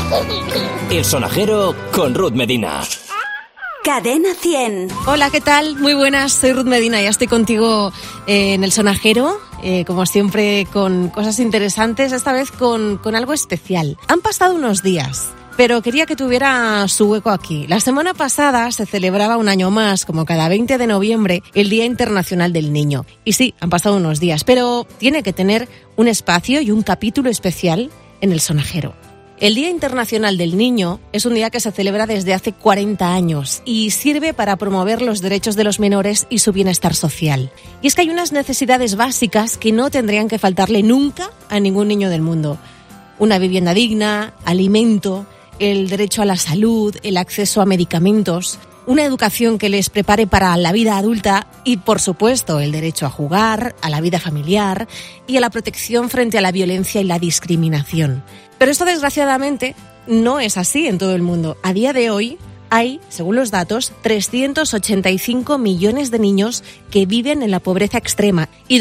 El Sonajero con Ruth Medina. Cadena 100. Hola, ¿qué tal? Muy buenas, soy Ruth Medina, ya estoy contigo en El Sonajero, como siempre con cosas interesantes, esta vez con algo especial. Han pasado unos días, pero quería que tuviera su hueco aquí. La semana pasada se celebraba un año más, como cada 20 de noviembre, el Día Internacional del Niño. Y sí, han pasado unos días, pero tiene que tener un espacio y un capítulo especial en El Sonajero. El Día Internacional del Niño es un día que se celebra desde hace 40 años y sirve para promover los derechos de los menores y su bienestar social. Y es que hay unas necesidades básicas que no tendrían que faltarle nunca a ningún niño del mundo. Una vivienda digna, alimento, el derecho a la salud, el acceso a medicamentos, una educación que les prepare para la vida adulta y, por supuesto, el derecho a jugar, a la vida familiar y a la protección frente a la violencia y la discriminación. Pero esto, desgraciadamente, no es así en todo el mundo. A día de hoy hay, según los datos, 385 millones de niños que viven en la pobreza extrema y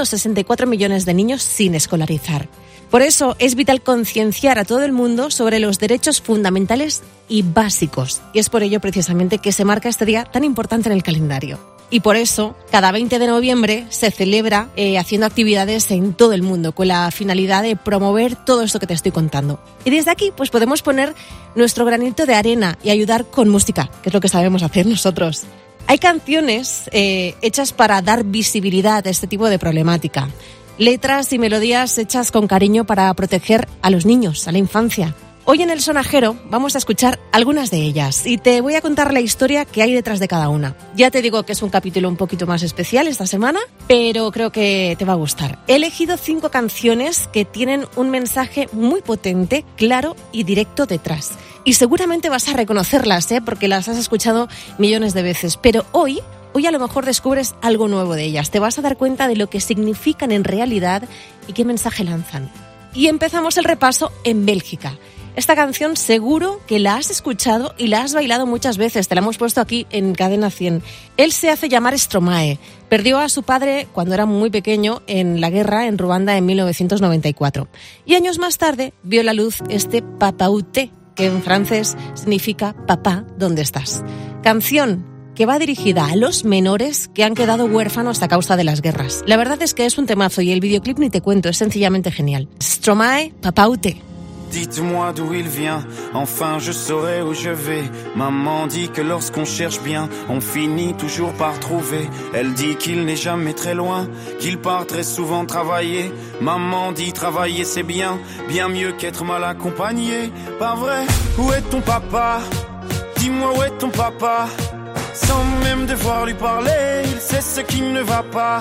264 millones de niños sin escolarizar. Por eso es vital concienciar a todo el mundo sobre los derechos fundamentales y básicos. Y es por ello precisamente que se marca este día tan importante en el calendario. Y por eso, cada 20 de noviembre se celebra haciendo actividades en todo el mundo con la finalidad de promover todo esto que te estoy contando. Y desde aquí pues podemos poner nuestro granito de arena y ayudar con música, que es lo que sabemos hacer nosotros. Hay canciones hechas para dar visibilidad a este tipo de problemática. Letras y melodías hechas con cariño para proteger a los niños, a la infancia. Hoy en El Sonajero vamos a escuchar algunas de ellas y te voy a contar la historia que hay detrás de cada una. Ya te digo que es un capítulo un poquito más especial esta semana, pero creo que te va a gustar. He elegido 5 canciones que tienen un mensaje muy potente, claro y directo detrás. Y seguramente vas a reconocerlas, porque las has escuchado millones de veces, pero Hoy a lo mejor descubres algo nuevo de ellas. Te vas a dar cuenta de lo que significan en realidad y qué mensaje lanzan. Y empezamos el repaso en Bélgica. Esta canción seguro que la has escuchado y la has bailado muchas veces. Te la hemos puesto aquí en Cadena 100. Él se hace llamar Stromae. Perdió a su padre cuando era muy pequeño en la guerra en Ruanda en 1994. Y años más tarde vio la luz este Papa où t'es, que en francés significa papá, ¿dónde estás? Canción que va dirigida a los menores que han quedado huérfanos a causa de las guerras. La verdad es que es un temazo y el videoclip ni te cuento, es sencillamente genial. Stromae, Papa où t'es. Dites-moi d'où il vient, enfin je saurai où je vais. Maman dit que lorsqu'on cherche bien, on finit toujours par trouver. Elle dit qu'il n'est jamais très loin, qu'il part très souvent travailler. Maman dit travailler c'est bien, bien mieux qu'être mal accompagné. Pas vrai, où est ton papa? Dis-moi où est ton papa? Sans même devoir lui parler, il sait ce qui ne va pas.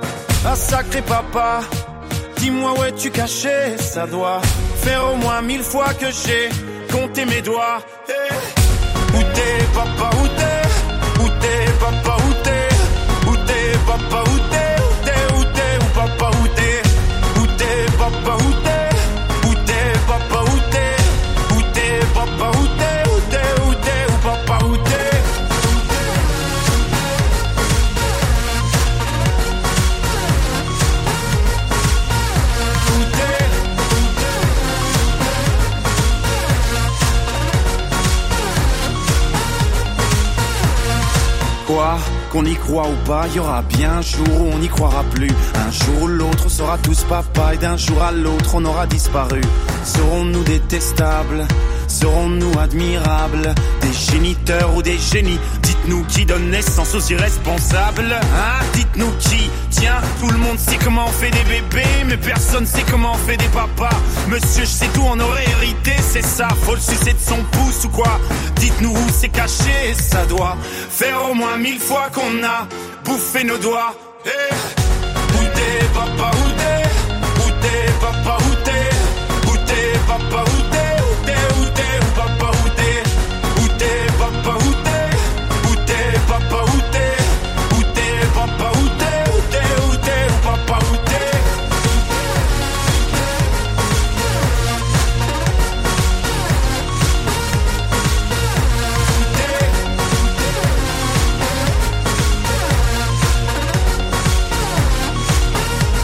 Ah sacré papa, dis-moi où es-tu caché? Ça doit faire au moins 1000 fois que j'ai compté mes doigts. Hey. Où t'es papa, où t'es? Où t'es papa, où t'es? Où t'es papa, où t'es? Où t'es, où t'es, où papa, où t'es? Où t'es papa, où t'es? Où t'es papa, où t'es? Où t'es papa, où t'es? Où t'es, où t'es, où papa, où t'es? Quoi, qu'on y croit ou pas, y aura bien un jour où on n'y croira plus. Un jour ou l'autre, on sera tous papa et d'un jour à l'autre, on aura disparu. Serons-nous détestables? Serons-nous admirables? Des géniteurs ou des génies? Dites-nous qui donne naissance aux irresponsables, hein? Dites-nous qui? Tiens, tout le monde sait comment on fait des bébés, mais personne sait comment on fait des papas. Monsieur, je sais tout, on aurait hérité, c'est ça. Faut le sucer de son pouce ou quoi? Dites-nous où c'est caché, ça doit faire au moins 1000 fois qu'on a bouffé nos doigts. Hey. Où t'es papa, où t'es? Où t'es papa, où t'es? Où t'es papa, où t'es? Où t'es, où papa, où t'es? Où t'es papa, où t'es? Où t'es papa, où t'es? Où t'es papa, où t'es? Où t'es, où t'es, où papa, où t'es?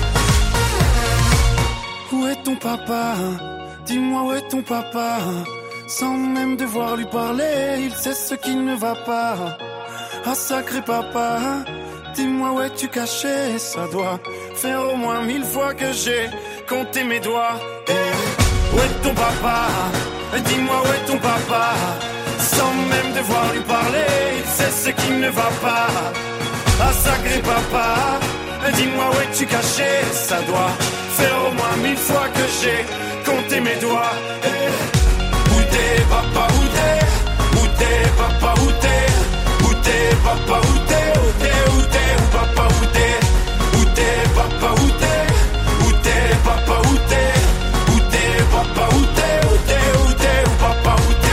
Où est ton papa? Dis-moi où est ton papa? Sans même devoir lui parler, il sait ce qui ne va pas. Ah sacré papa, dis-moi où es-tu caché? Ça doit faire au moins 1000 fois que j'ai compté mes doigts. Où est ton papa? Dis-moi où est ton papa? Sans même devoir lui parler, il sait ce qui ne va pas. Ah sacré papa, dis-moi où es-tu caché? Ça doit faire au moins 1000 fois que j'ai compté mes doigts. Où t'es papa, où t'es? Où t'es papa, où t'es? Où t'es papa, où t'es? Où t'es, où t'es, où papa, où t'es? Où t'es papa, où t'es? Où t'es papa, où t'es? Où t'es papa, où t'es? Où t'es, où t'es, où papa, où t'es?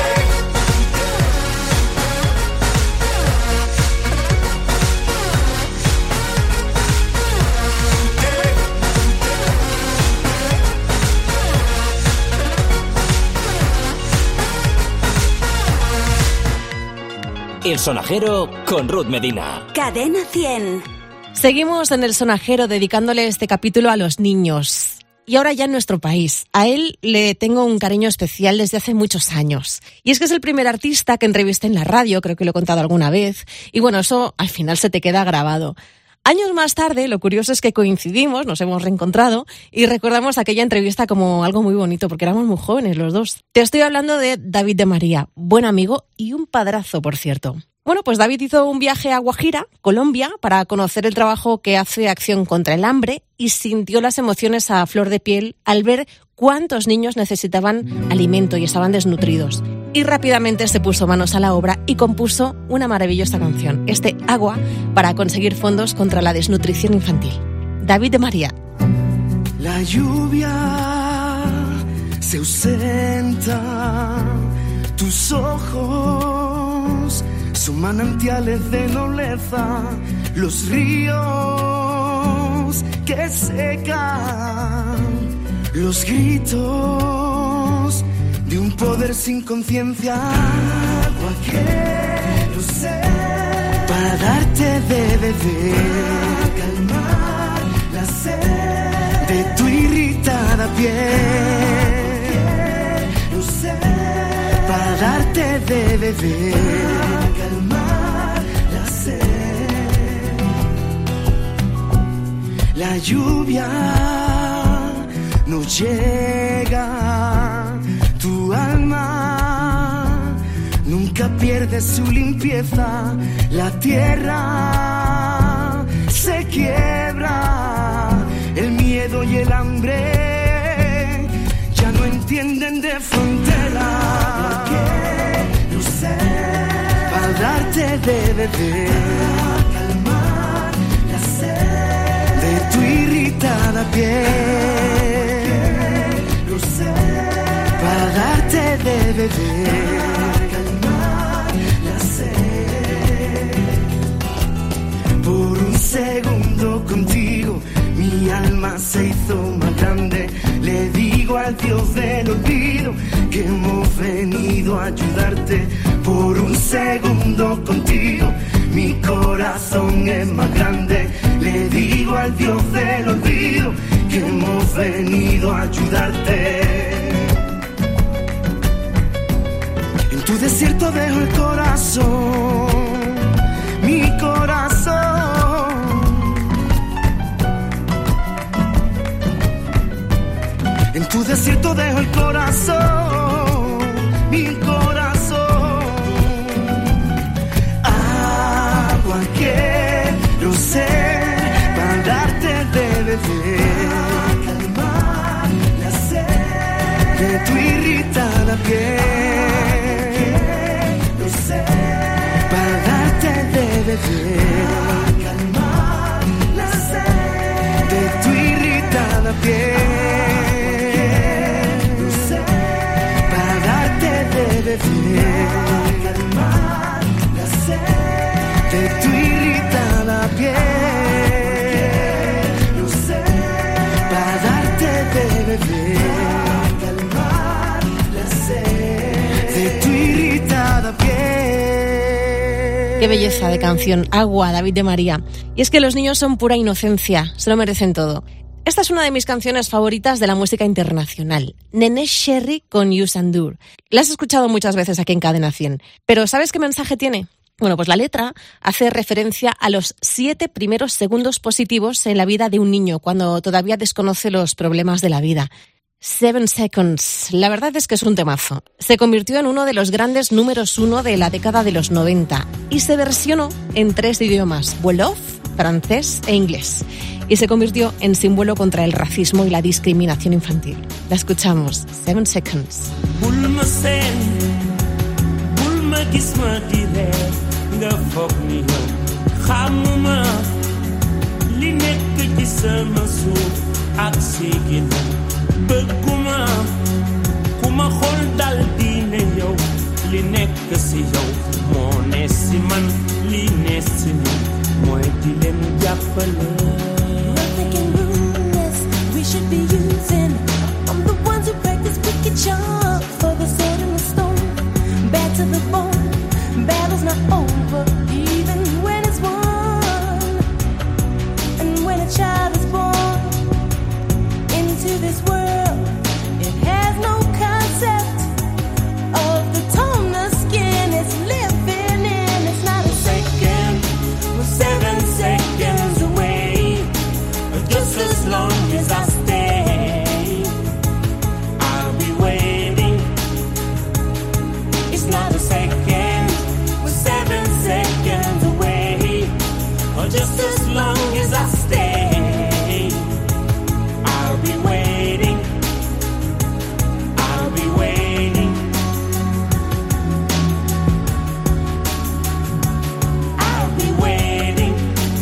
El Sonajero con Ruth Medina. Cadena 100. Seguimos en El Sonajero dedicándole este capítulo a los niños. Y ahora ya en nuestro país. A él le tengo un cariño especial desde hace muchos años. Y es que es el primer artista que entrevisté en la radio, creo que lo he contado alguna vez. Y bueno, eso al final se te queda grabado. Años más tarde, lo curioso es que coincidimos, nos hemos reencontrado y recordamos aquella entrevista como algo muy bonito porque éramos muy jóvenes los dos. Te estoy hablando de David de María, buen amigo y un padrazo, por cierto. Bueno, pues David hizo un viaje a Guajira, Colombia, para conocer el trabajo que hace Acción contra el Hambre y sintió las emociones a flor de piel al ver cuántos niños necesitaban alimento y estaban desnutridos. Y rápidamente se puso manos a la obra y compuso una maravillosa canción, este Agua, para conseguir fondos contra la desnutrición infantil. David de María. La lluvia se ausenta, tus ojos son manantiales de nobleza, los ríos que secan, los gritos de un poder sin conciencia. Agua quiero ser para darte de beber, calmar la sed de tu irritada piel. Quiero ser para darte de beber, calmar la sed. La lluvia no llega, tu alma nunca pierde su limpieza, la tierra se quiebra, el miedo y el hambre ya no entienden de frontera. Quiero ser para darte de beber, calmar la sed de tu irritada piel. Quiero ser para darte de beber, calmar la sed. Por un segundo contigo mi alma se hizo más grande. Le digo al Dios del olvido que hemos venido a ayudarte. Por un segundo contigo mi corazón es más grande. Le digo al Dios del olvido que hemos venido a ayudarte. En tu desierto dejo el corazón, mi corazón. En tu desierto dejo el corazón, mi corazón. Agua quiero ser para darte de beber, calmar la sed de tu irritada piel. Quiero ser para darte de beber, calmar la sed de tu irritada piel. Calmar la sed de tu irritada piel. No sé, para darte de beber, calmar la sed de tu irritada piel. Qué belleza de canción, Agua, David de María. Y es que los niños son pura inocencia, se lo merecen todo. Esta es una de mis canciones favoritas de la música internacional, Neneh Cherry con Youssou N'Dour. La has escuchado muchas veces aquí en Cadena 100, pero ¿sabes qué mensaje tiene? Bueno, pues la letra hace referencia a los 7 primeros segundos positivos en la vida de un niño, cuando todavía desconoce los problemas de la vida. 7 Seconds, la verdad es que es un temazo. Se convirtió en uno de los grandes números 1 de la década de los 90 y se versionó en 3 idiomas, wolof, francés e inglés. Y se convirtió en símbolo contra el racismo y la discriminación infantil. La escuchamos, 7 Seconds. Nga foog ni yow xamuma li nekk ci sama suuf ak si ginnaaw bëgguma ku ma xool dal di ne yow li nekk si yow moo ne si man li ne si man mooy di leen jàppale. Nothing can ruin this, we should be using. I'm the ones who practice wicked charm for the sword and the stone, bad to the bone. Battle's not over, even when it's won. And when a child is born into this world, it has no concept of the tone the skin is living in. It's not a second, we're 7 seconds away. Just as long as I stay, I'll be waiting. It's not a second, seconds away, or just as long as I stay, I'll be waiting, I'll be waiting, I'll be waiting.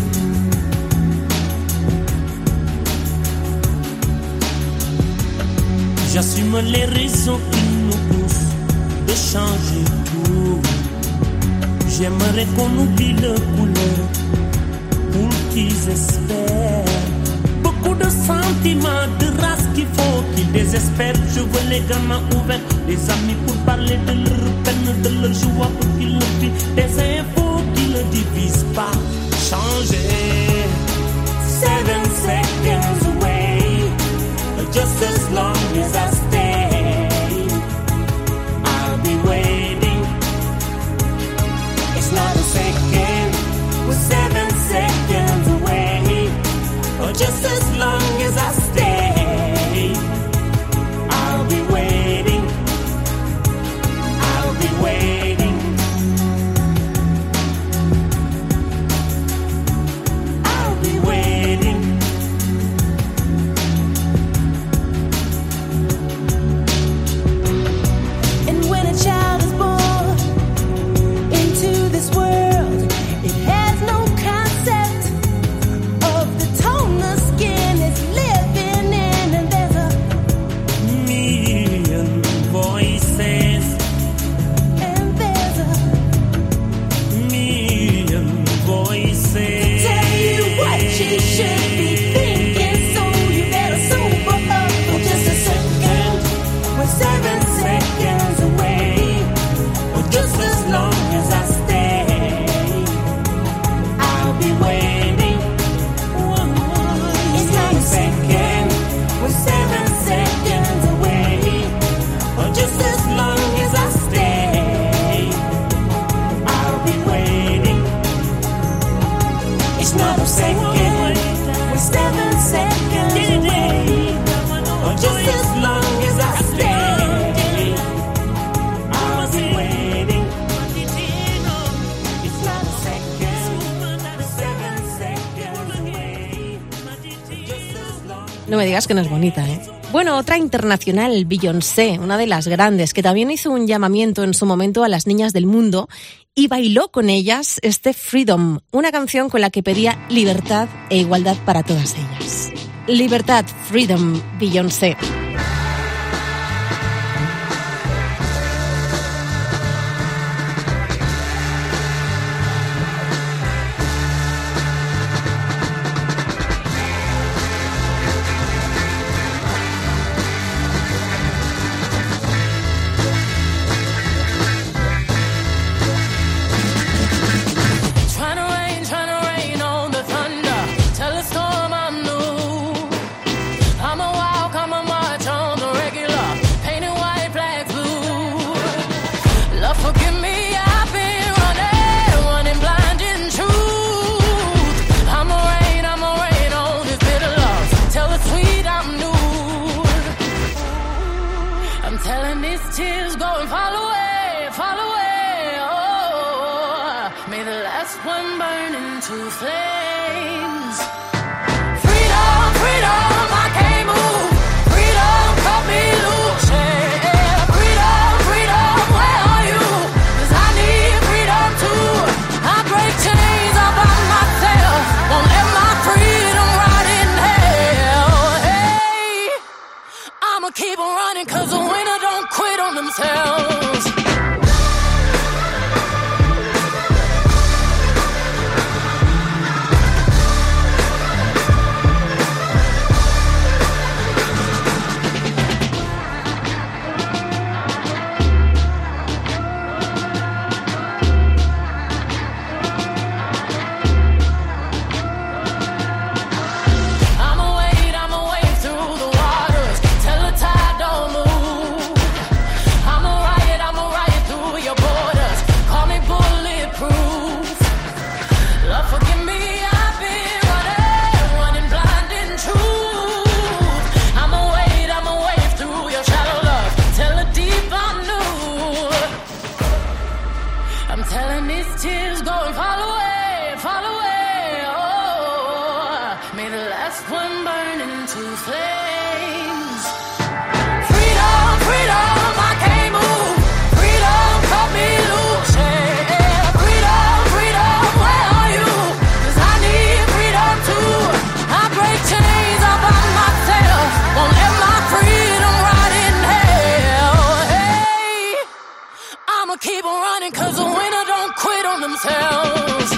J'assume les raisons qui nous poussent de changer tout. J'aimerais qu'on oublie le couleur pour qu'ils espèrent. Beaucoup de sentiments, de race qu'il faut qu'ils désespèrent. Je veux les gamins ouverts, les amis pour parler de leur peine, de leur joie pour qu'ils le vivent. Des infos qui ne divisent pas. Changer. 7 seconds away, just as long as I stay, I'll be waiting. It's not a second, we're 7 seconds away, or just as long as I stay, I'll be waiting, I'll be waiting, I'll be waiting. And when a child is born into this world, it has no concept of the tone the skin is living in. And there's a million voices, and there's a million voices to tell you what you should be thinking. So you better sober up for just a second. We're 7 seconds away, or just as long as I stay, I'll be waiting. It's not a second, we're 7 seconds away, or just as long as I stay, I'll be waiting. It's not a second, we're 7 seconds away, or just as long as I stay, I'll be waiting. It's not a second, 7 seconds away, just as long. No me digas que no es bonita, ¿eh? Bueno, otra internacional, Beyoncé, una de las grandes, que también hizo un llamamiento en su momento a las niñas del mundo y bailó con ellas este Freedom, una canción con la que pedía libertad e igualdad para todas ellas. Libertad, Freedom, Beyoncé. Trying to rain on the thunder, tell a storm I'm new. I'm telling these tears go and fall away, fall away. Oh, may the last one burn into flames. Freedom, freedom, I can't move. Freedom, cut me loose. Yeah. Freedom, freedom, where are you? 'Cause I need freedom too. I break chains all by myself. Won't let my freedom rot in hell. Hey, I'ma keep on running 'cause the winner don't quit on themselves. I'ma wade through the waters till the tide don't move. I'ma ride through your borders. Call me bulletproof. Lord, forgive me, I've been running blind in truth. I'ma wade through your shallow love till the deep I knew. I'm telling these tears go and fall away, fall away. Oh, may the last one burn into flames. Freedom, freedom, I can't move. Freedom, cut me loose. Yeah. Freedom, freedom, where are you? 'Cause I need freedom too. I break chains all by myself. Won't let my freedom rot in hell. Hey, I'ma keep on running 'cause the winner don't quit on themselves.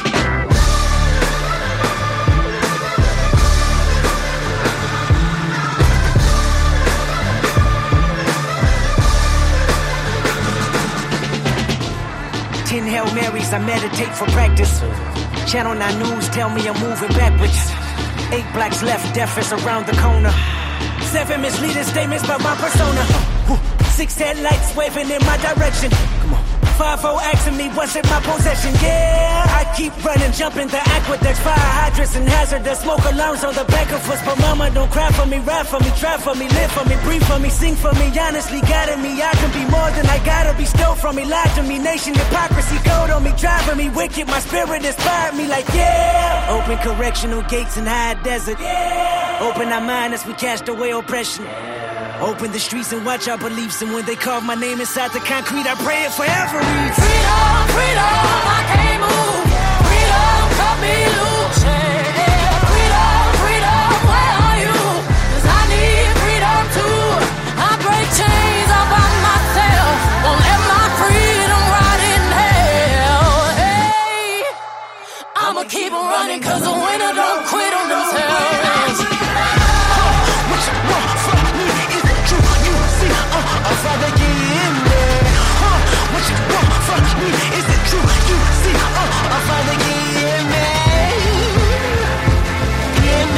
Ten Hail Marys, I meditate for practice. Channel 9 News tell me I'm moving backwards. 8 blacks left, death is around the corner. 7 misleading statements about my persona. 6 headlights waving in my direction. Come on. 5-0 asking me what's in my possession. Yeah, I keep running, jumping the aqueducts, fire hydrants and hazardous smoke alarms on the back of us. But mama, don't cry for me, ride for me, try for me, live for me, breathe for me, sing for me. Honestly, guiding me, I can be more than I gotta be. Stole from me, lied to me, nation hypocrisy, code on me, driving me wicked. My spirit inspired me like yeah. Open correctional gates in high desert. Yeah. Open our mind as we cast away oppression. Open the streets and watch our beliefs. And when they carve my name inside the concrete, I pray it forever reads. Freedom, freedom, I can't move. Freedom, cut me loose. Yeah. Freedom, freedom, where are you? 'Cause I need freedom too. I break chains all by myself. Won't let my freedom rot in hell. Hey, I'ma keep on running 'cause the winner don't quit on themselves. What you want from me? Is it true? You see, I'd rather get in there. What you want from me? Is it true? You see, I'd rather get in there. In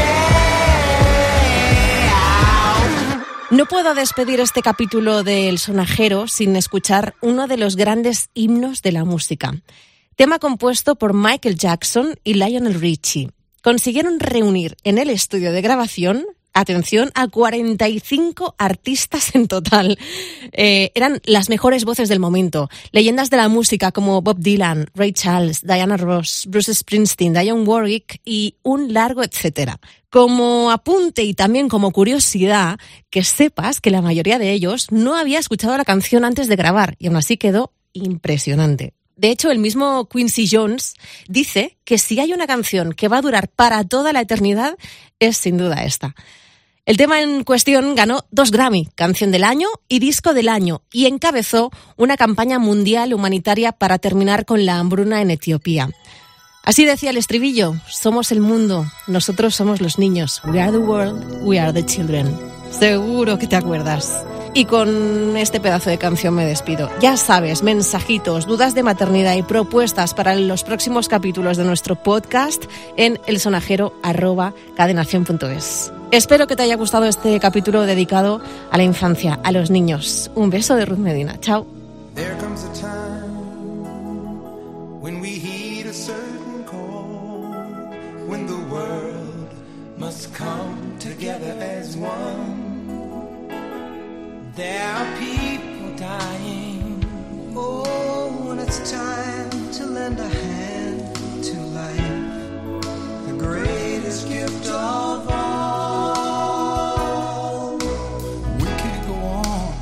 there. No puedo despedir este capítulo de El Sonajero sin escuchar uno de los grandes himnos de la música. Tema compuesto por Michael Jackson y Lionel Richie. Consiguieron reunir en el estudio de grabación, atención, a 45 artistas en total. Eran las mejores voces del momento. Leyendas de la música como Bob Dylan, Ray Charles, Diana Ross, Bruce Springsteen, Dionne Warwick y un largo etcétera. Como apunte y también como curiosidad, que sepas que la mayoría de ellos no había escuchado la canción antes de grabar y aún así quedó impresionante. De hecho, el mismo Quincy Jones dice que si hay una canción que va a durar para toda la eternidad, es sin duda esta. El tema en cuestión ganó 2 Grammy, Canción del Año y Disco del Año, y encabezó una campaña mundial humanitaria para terminar con la hambruna en Etiopía. Así decía el estribillo: somos el mundo, nosotros somos los niños. We are the world, we are the children. Seguro que te acuerdas. Y con este pedazo de canción me despido. Ya sabes, mensajitos, dudas de maternidad y propuestas para los próximos capítulos de nuestro podcast en elsonajero@cadenación.es. Espero que te haya gustado este capítulo dedicado a la infancia, a los niños. Un beso de Ruth Medina. Chao. There comes a time when we heed a certain call, when the world must come together as one. There are people dying. Oh, when it's time to lend a hand to life, the greatest gift of all. We can't go on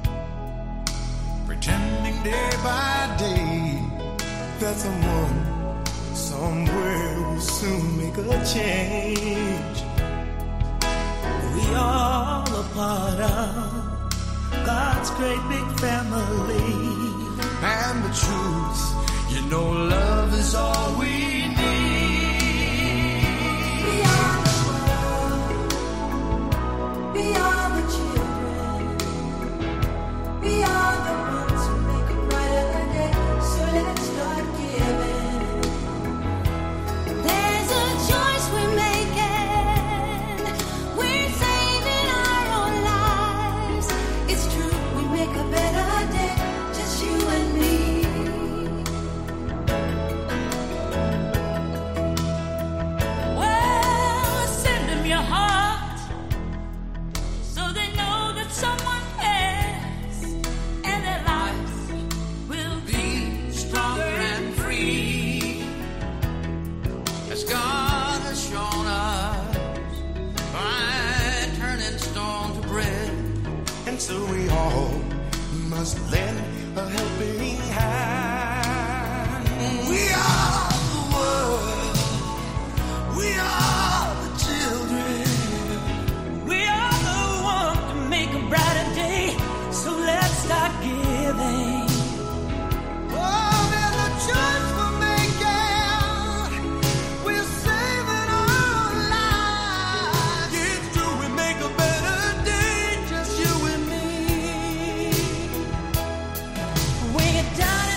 pretending day by day that someone somewhere will soon make a change. We all a part of God's great big family. And the truth, you know, love is all we need. We are the world. We are the children. We are the ones who make a brighter day. So let's start giving. There's a choice we're making. We're saving our own lives. It's true, we make a better day. Just you and me. Well, send them your heart so they know that someone cares, and their lives will be stronger and free, As God has shown us by turning stone to bread. And so we all must lend a helping hand. We are the world. We are the children. we are the ones to make a brighter day. So let's start giving. Oh, there's a choice we're making. We're saving our lives. It's true, we make a better day, just you and me. When you're down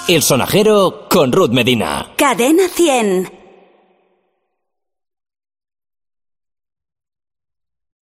El Sonajero con Ruth Medina. Cadena 100.